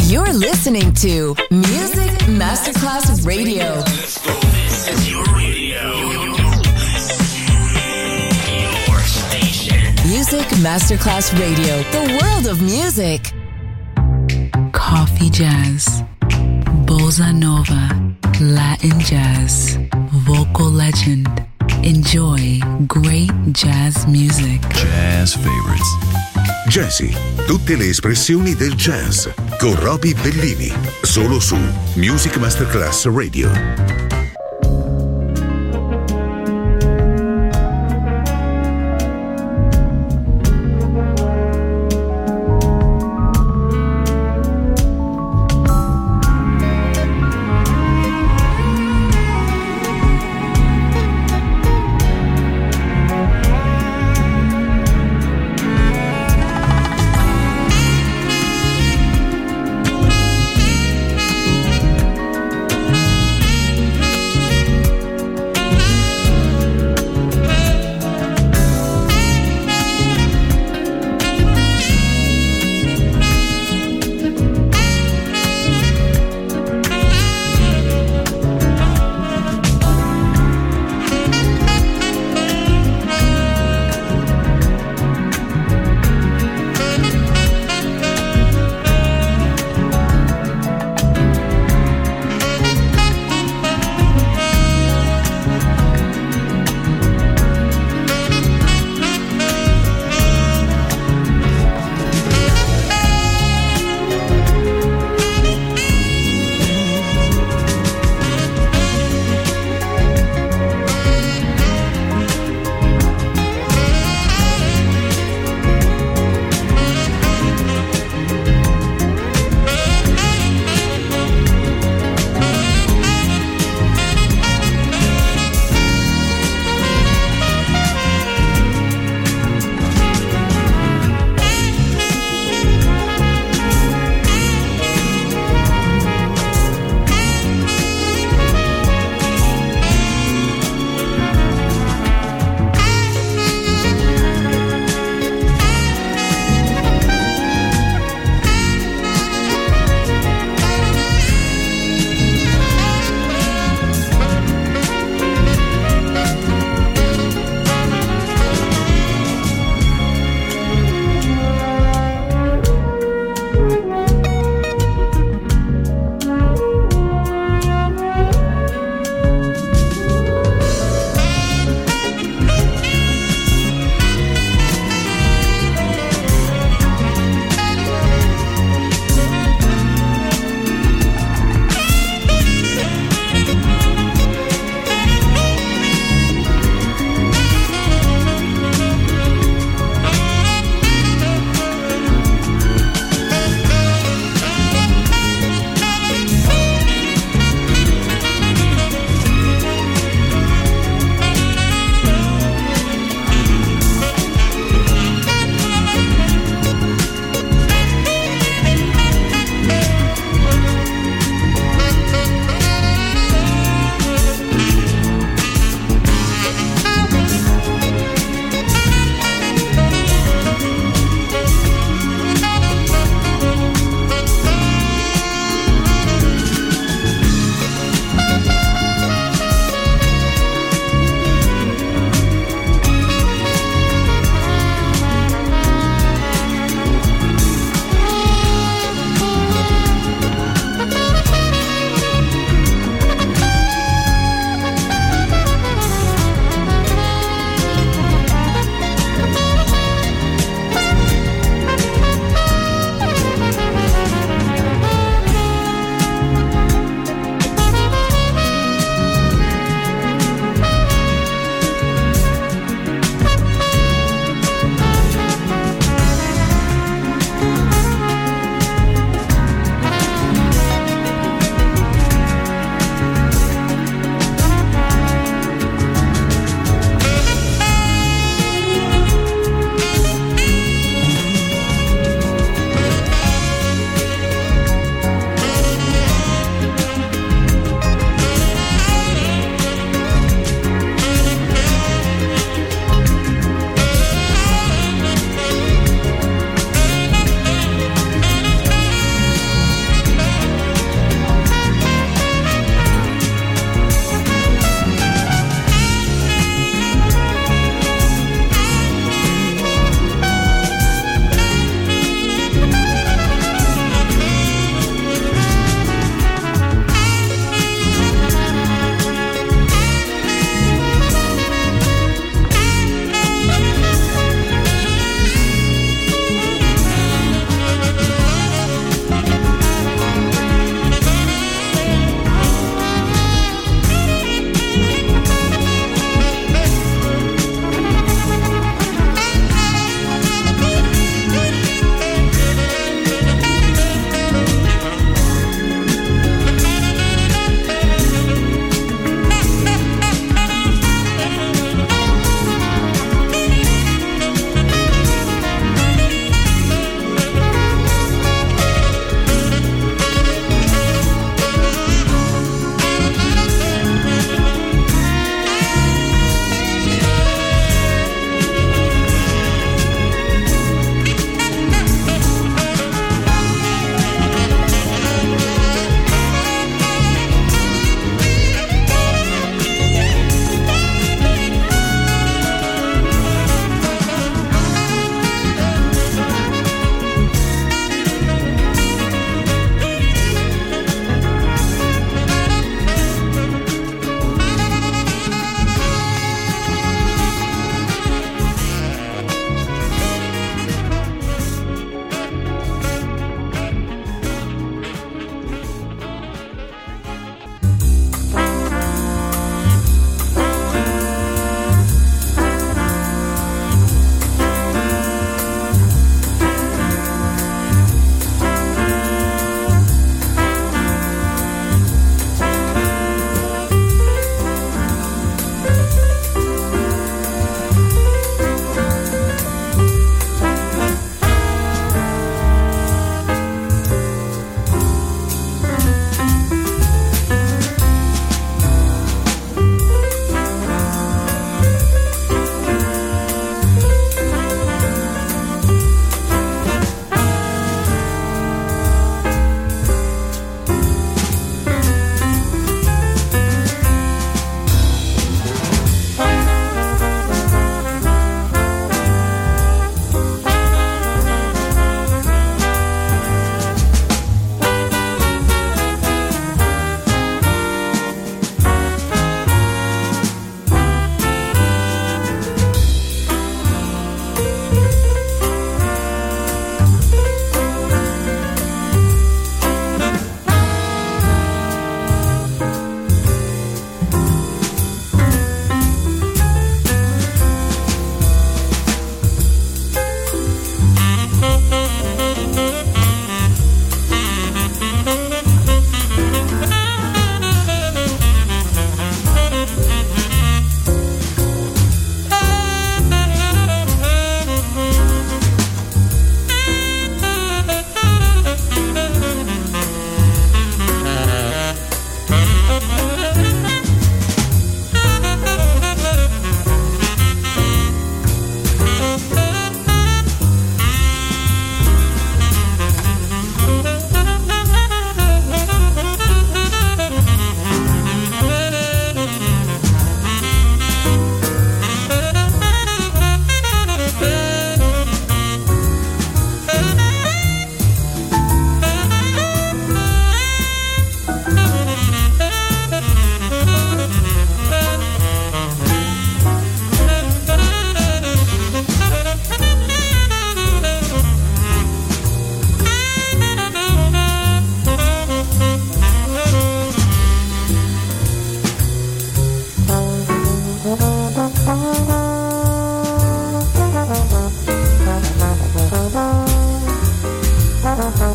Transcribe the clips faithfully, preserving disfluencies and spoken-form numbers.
You're listening to Music Masterclass Radio. Let's go. This is your radio. Your station. Music Masterclass Radio. The world of music. Coffee jazz, bossa nova, Latin jazz, vocal legend. Enjoy great jazz music. Jazz favorites. Jazzy, tutte le espressioni del jazz con Roby Bellini, solo su Music Masterclass Radio.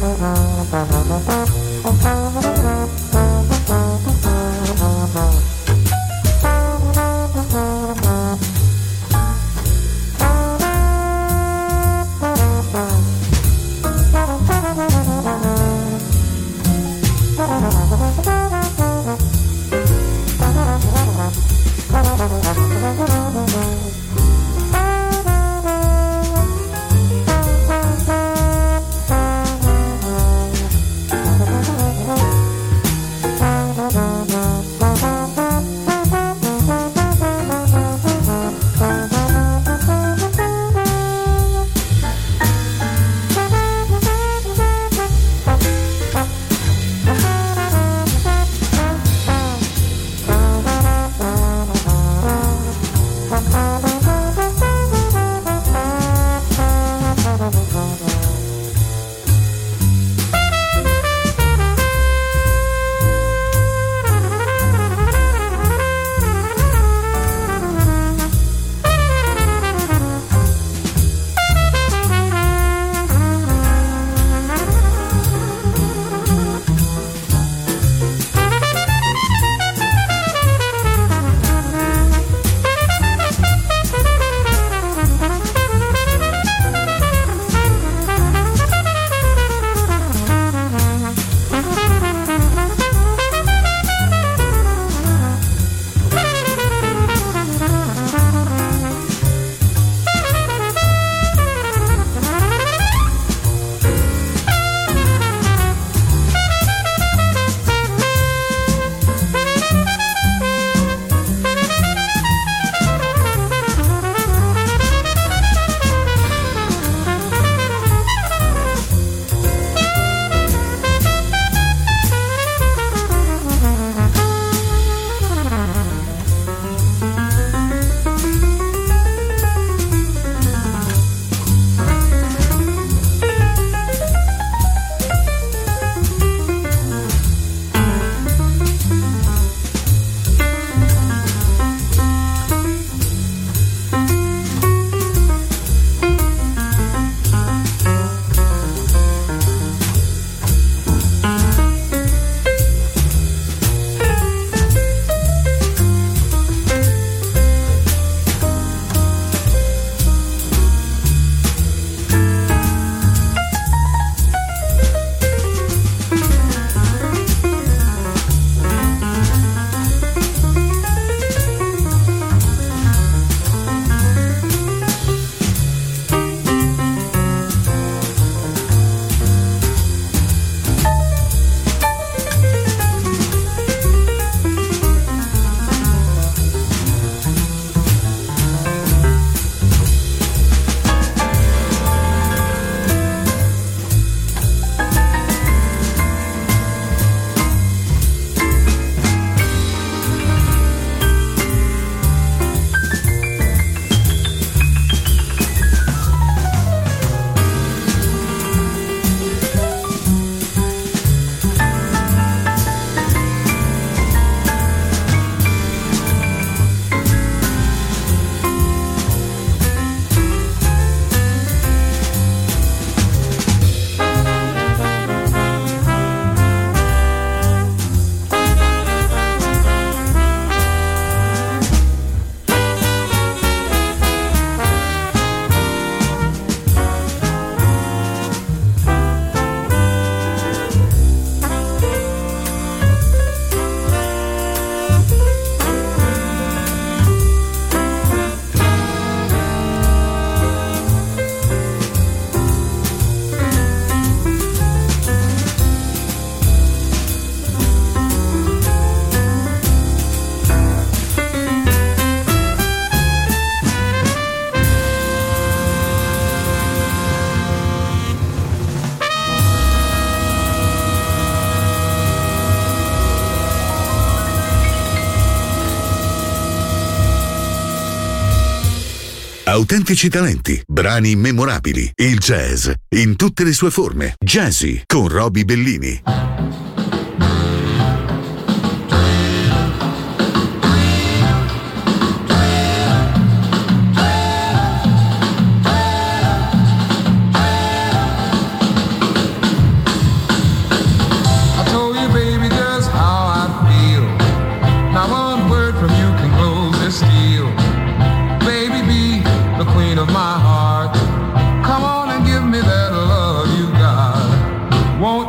Autentici talenti, brani memorabili, il jazz in tutte le sue forme. Jazzy con Roby Bellini.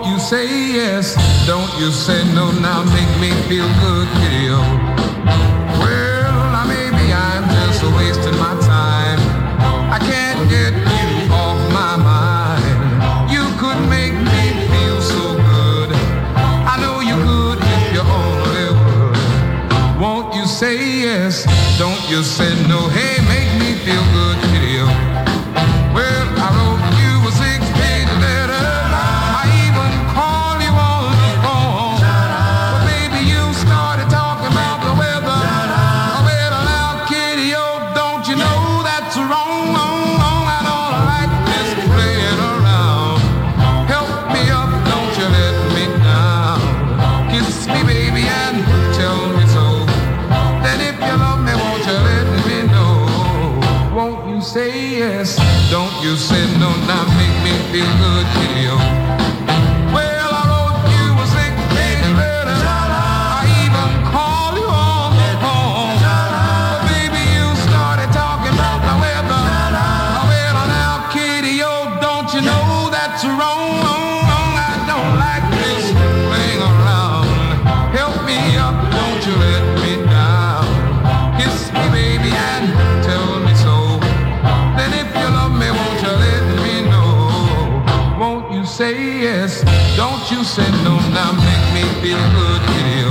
Won't you say yes? Don't you say no now, make me feel good, kitty-o. Well, now maybe I'm just wasting my time. I can't get you off my mind. You could make me feel so good. I know you could if you only would. Won't you say yes? Don't you say no. Hey, make me feel good, kitty-o. Well, I wrote you a six-page letter. I even called you on the phone. But baby, you started talking about the weather. Well, now, kitty-o, don't you know that's wrong, wrong, wrong? I don't like this playing around. Help me up, don't you let me down. Kiss me, baby, and tell me so. Then if you love me, won't you let me know? Won't you say yes? Don't you say no, now make me feel good, kitty-o. Well, I wrote you a six-page letter. I even called you on the phone. But baby, you started talking about the weather. Well, now, kitty-o, don't you know that's wrong, wrong, wrong? I don't like this playing around. Help me up, don't you let me down. Kiss me, baby, and tell me so. Then if you love me, won't you let me know? Won't you say yes? Don't you say no, now make me feel good, kitty-o.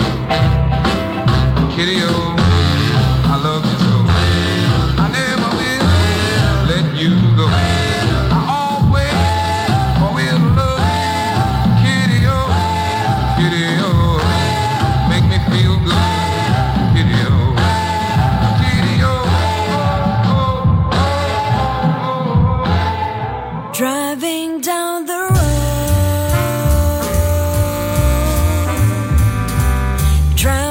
Kitty-o, I love you so. I never will let you go. I always will love you, kitty-o, kitty-o. Make me feel good, kitty-o. Driving down the road, trying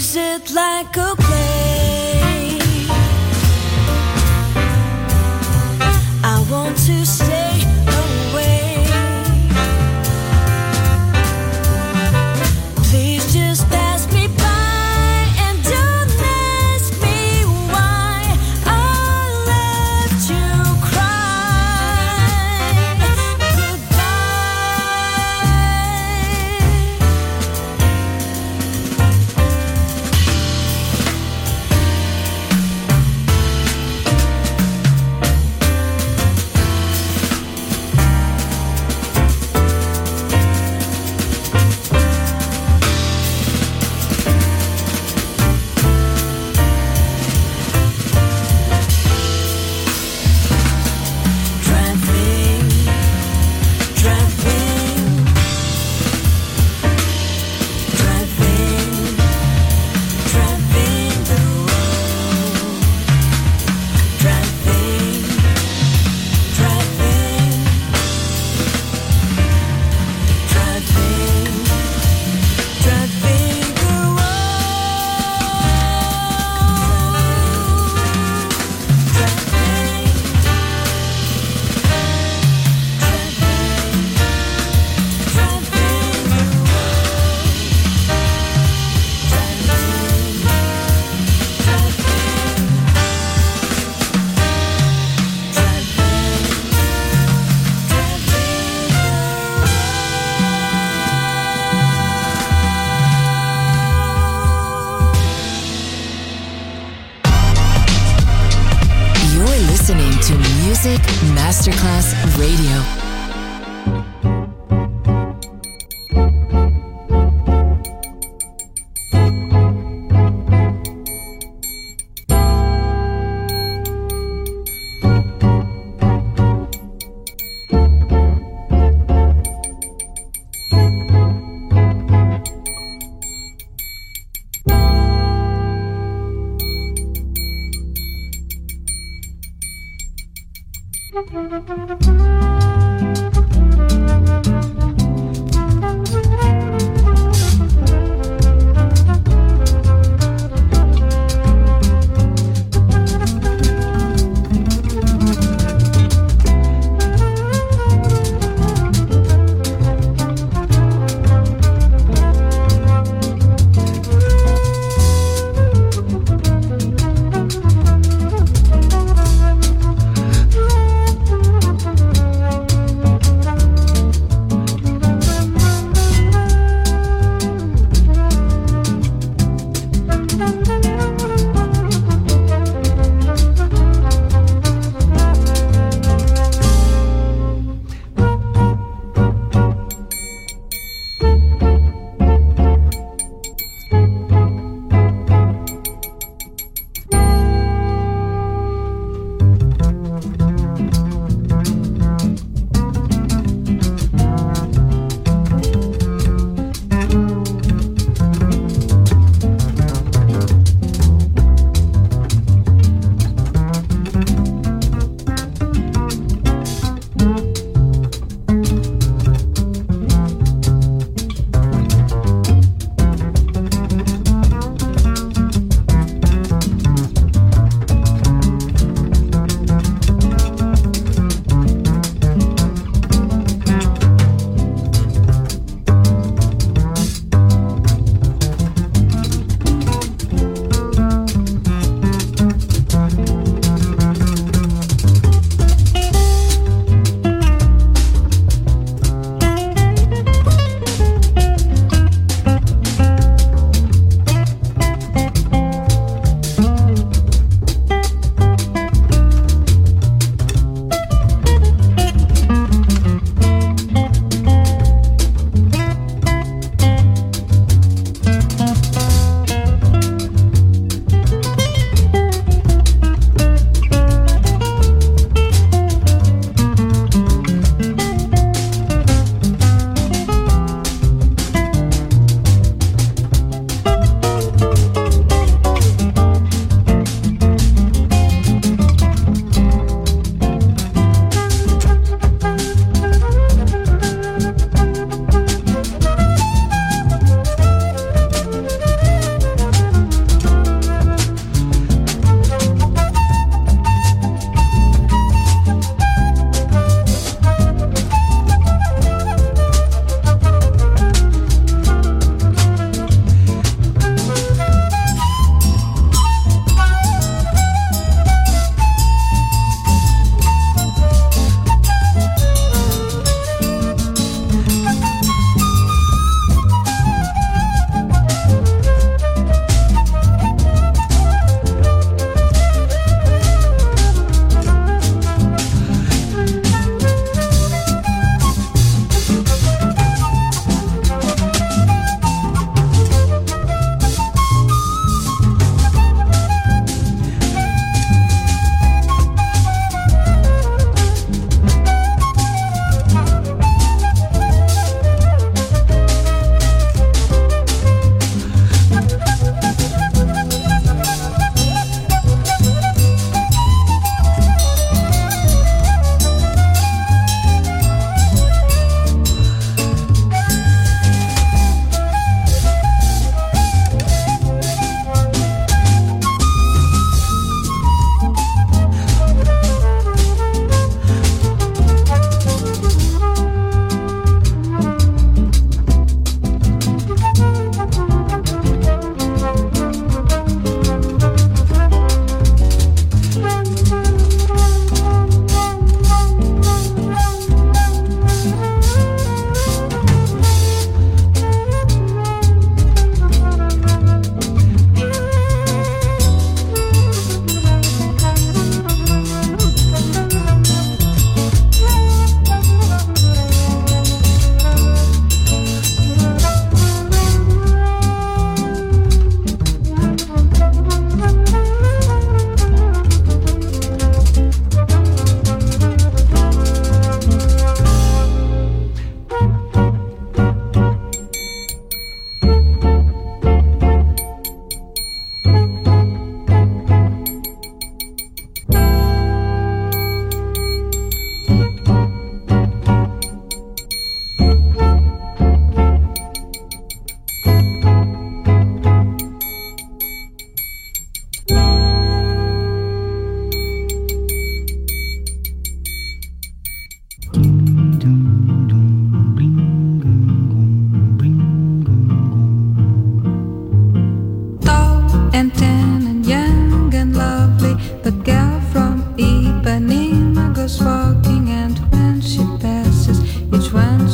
use it like a play. I want to stay away. Please just pass me by and don't ask me why I left you cry. Goodbye. Music Masterclass Radio.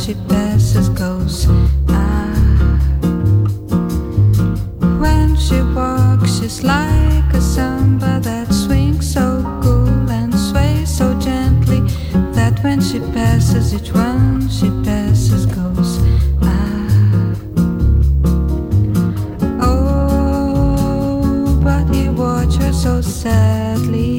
she passes goes. Ah, when she walks, she's like a samba that swings so cool and sways so gently that when she passes, each one she passes goes. Ah, oh, but he watched her so sadly.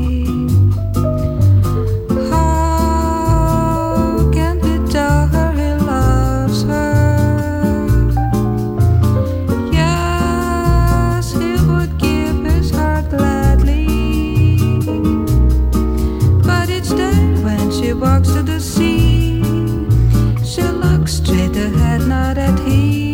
Walks to the sea, she looks straight ahead, not at him.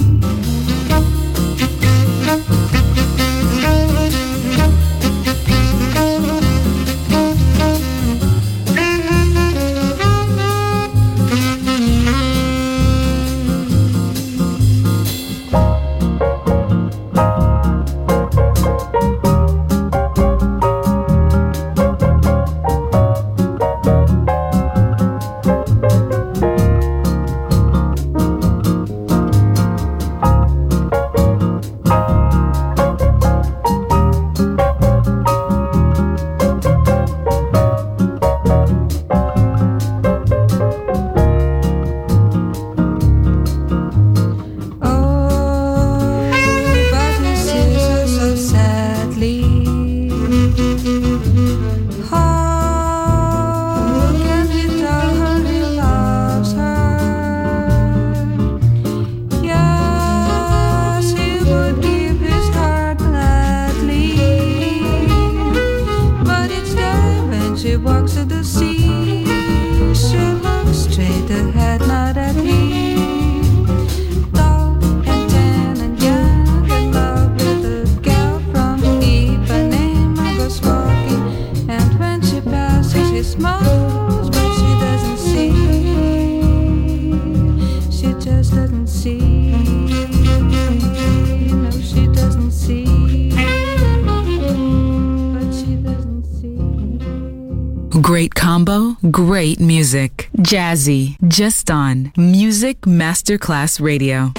Great combo, great music. Jazzy, just on Music Masterclass Radio.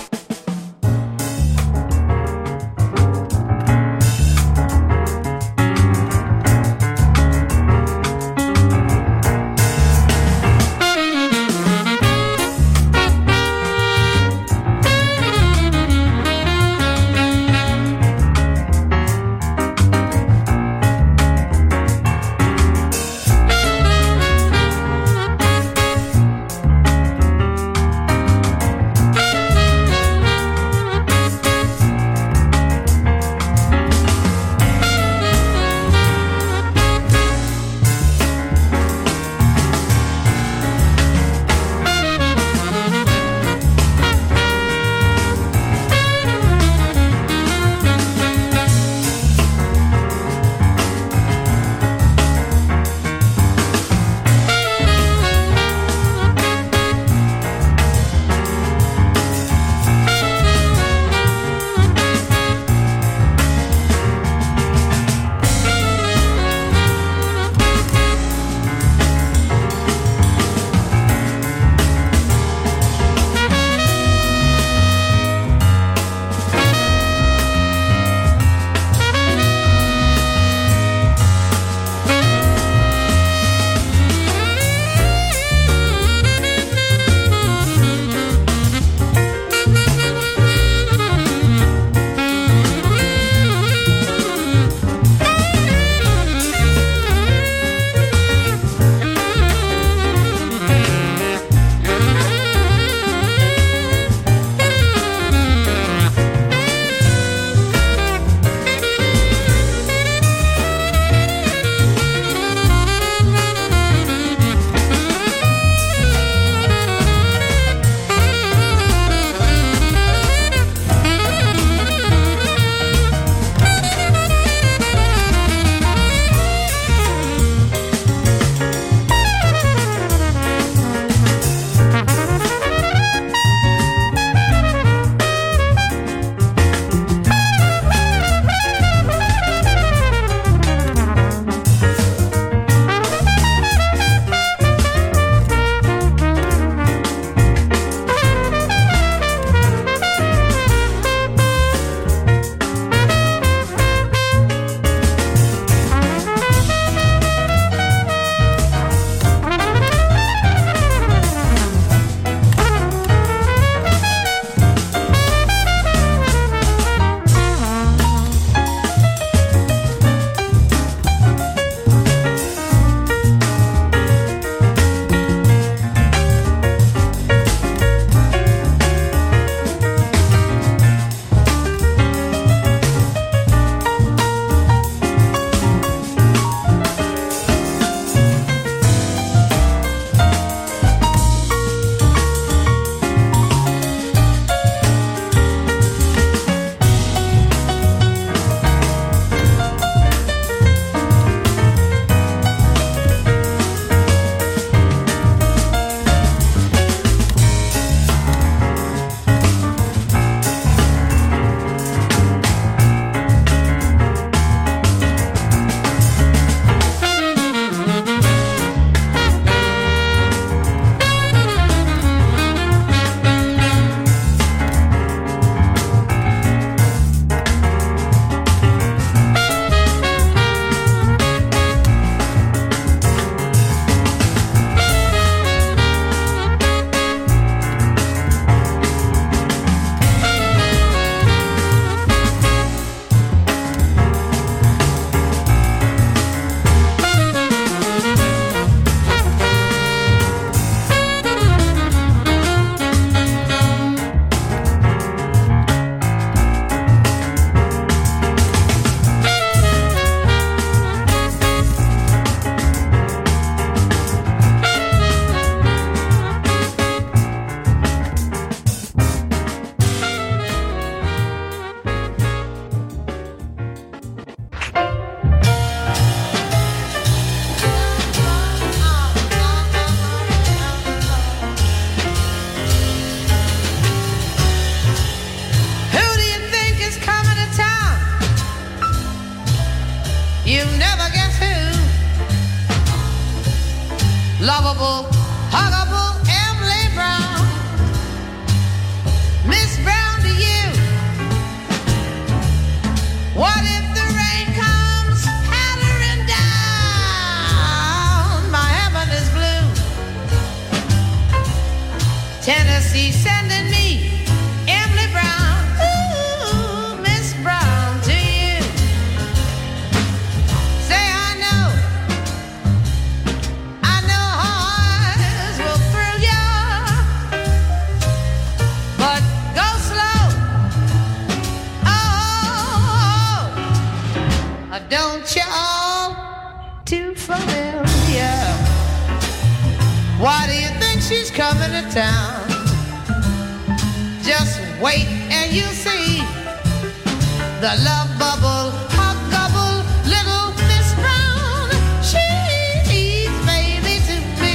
lovable, huggable Emily Brown. Miss Brown, to you, what if the rain comes pattering down? My heaven is blue. Tennessee sending me Emily Brown. Ooh, Miss Brown, to you. Say I know, I know hearts will thrill ya, but go slow. Oh, don't y'all too familiar. Why do you think she's coming to town? Just wait and you'll see the love bubble, huggable little Miss Brown. She's baby to me.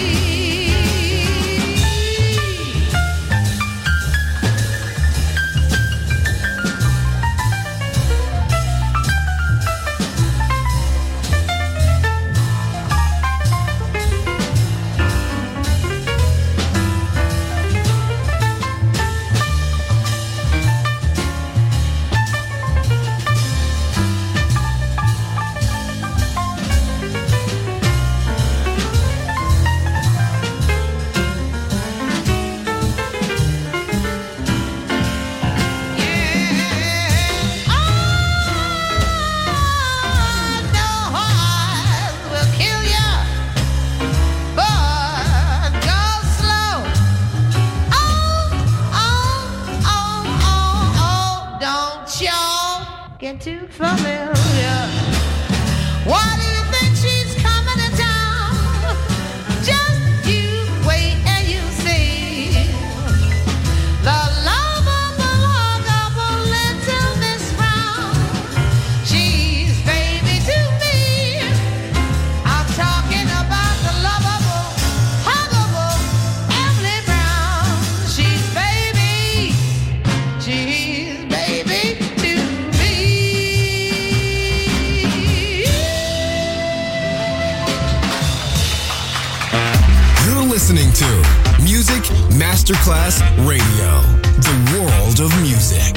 Get too familiar. Why do you think she's coming to town? Just you wait and you see the lovable, huggable little Miss Brown. She's baby to me. I'm talking about the lovable, huggable Emily Brown. She's baby. She's baby to me. You're listening to Music Masterclass Radio, the world of music.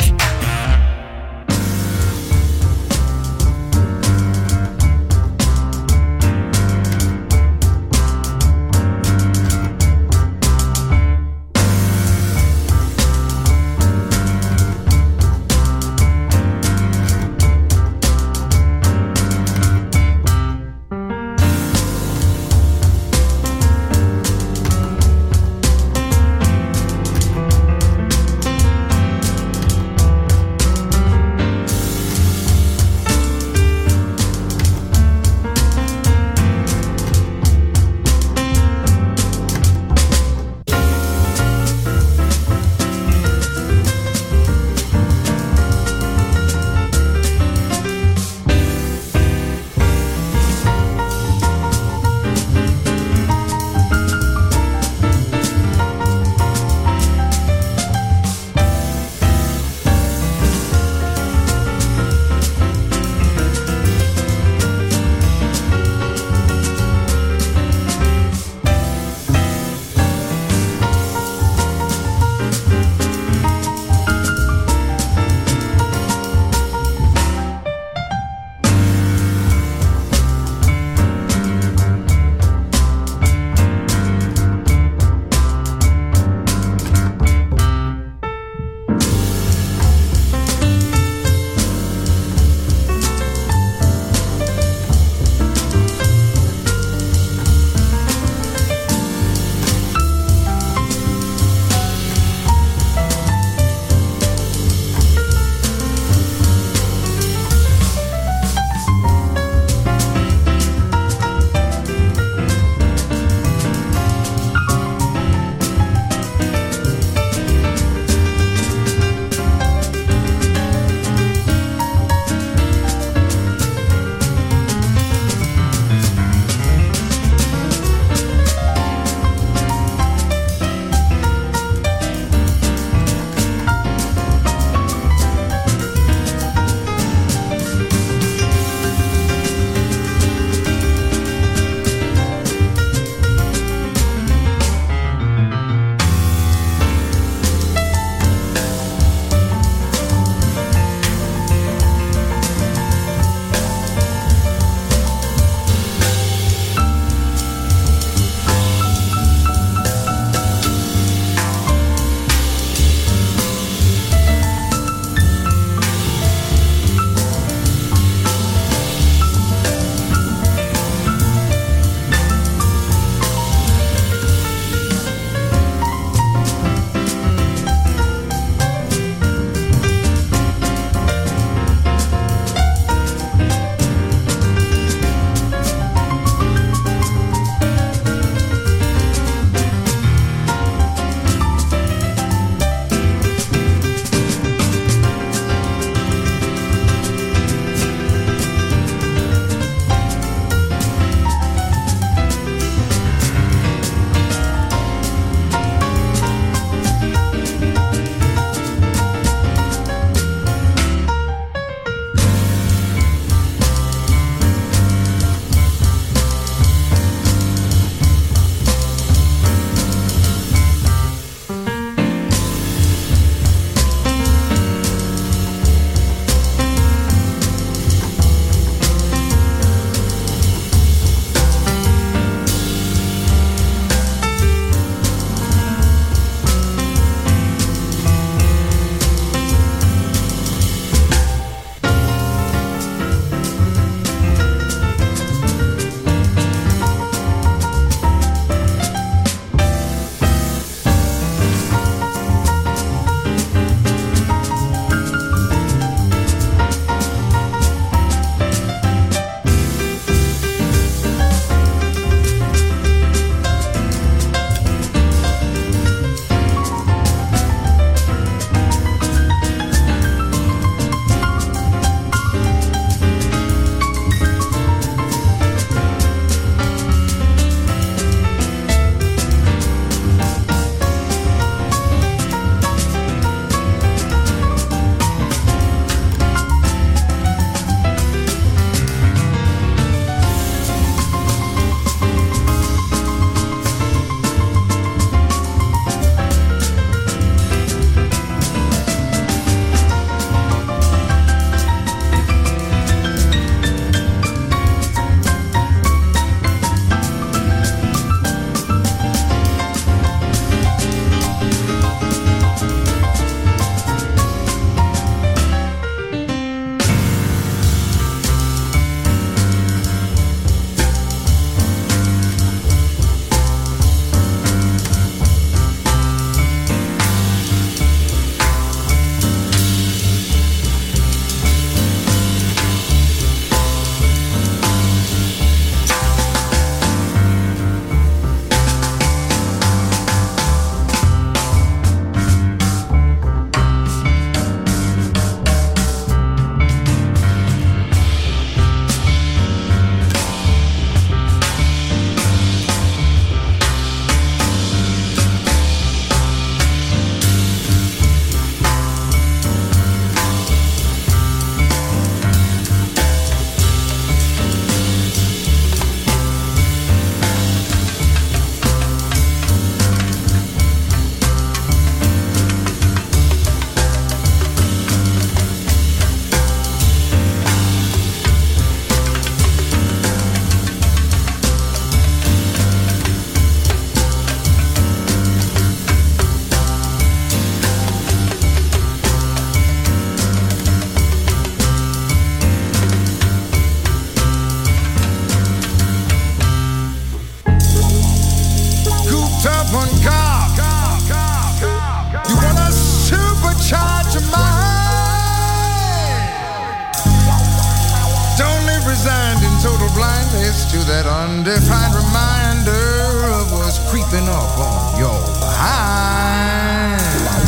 total blindness to that undefined reminder of what's creeping up on your behind.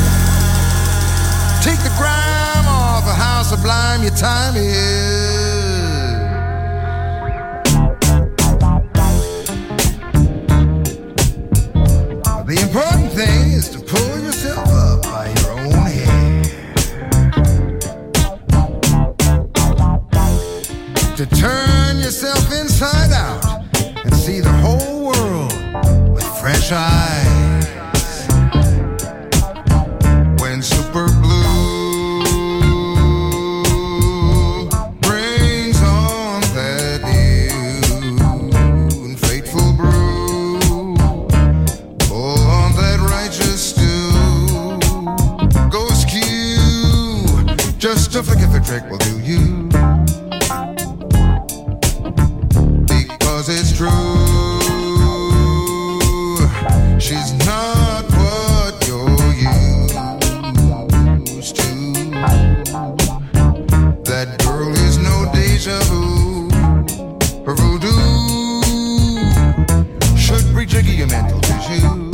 Take the grime off of how sublime your time is. The important thing is to pull yourself up by your own hair. To turn yourself inside out and see the whole world with fresh eyes. When Super Blue brings on that new and fateful brew, pull on that righteous stew, go skew, just a flick of a trick will do you. It's true, she's not what you're used to. That girl is no deja vu. Her voodoo should re-jigger your mental tissue.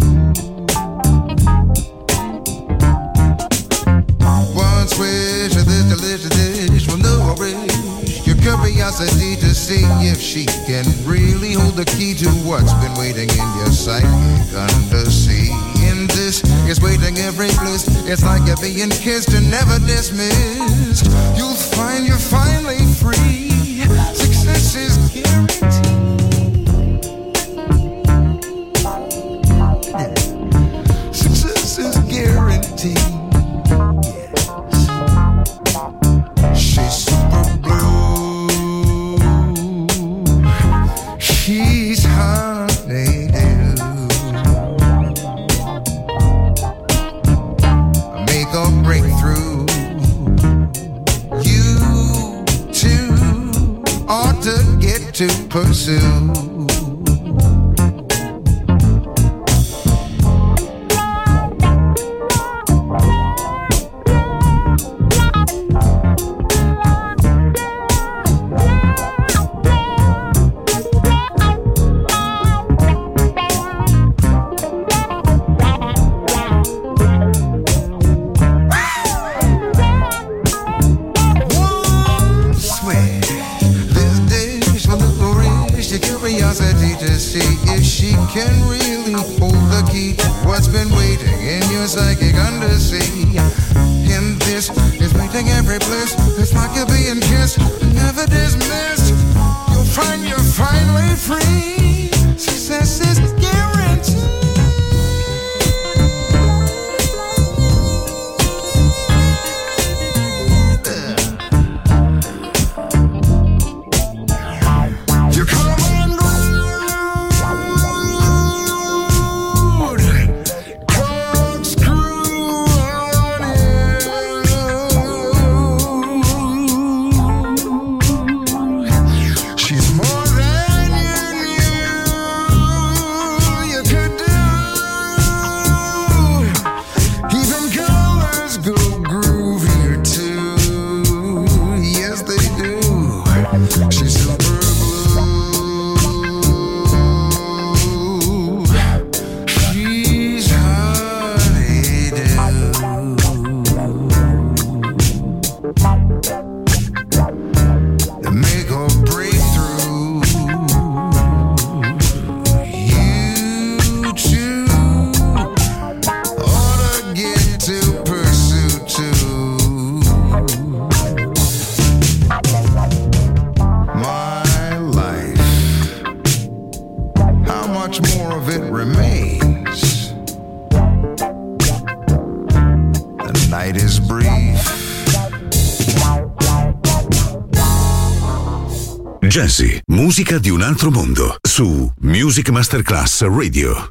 Once wish of this delicious dish will nourish your curiosity to see if she can really hold the key to what's been waiting in your psychic undersea. In this is waiting every bliss. It's like you're being kissed and never dismissed. You'll find you're finally free. Success is guaranteed. Success is guaranteed. She's honeydew. Make a breakthrough. You too ought to get to pursue. To see if she can really hold the key to what's been waiting in your psychic undersea. In this is waiting every bliss. It's like you're being kissed, never dismissed. You'll find you're finally free. Success is guaranteed. Jazzy, musica di un altro mondo, su Music Masterclass Radio.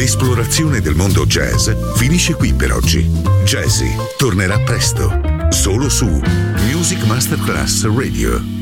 L'esplorazione del mondo jazz finisce qui per oggi. Jazzy tornerà presto, solo su Music Masterclass Radio.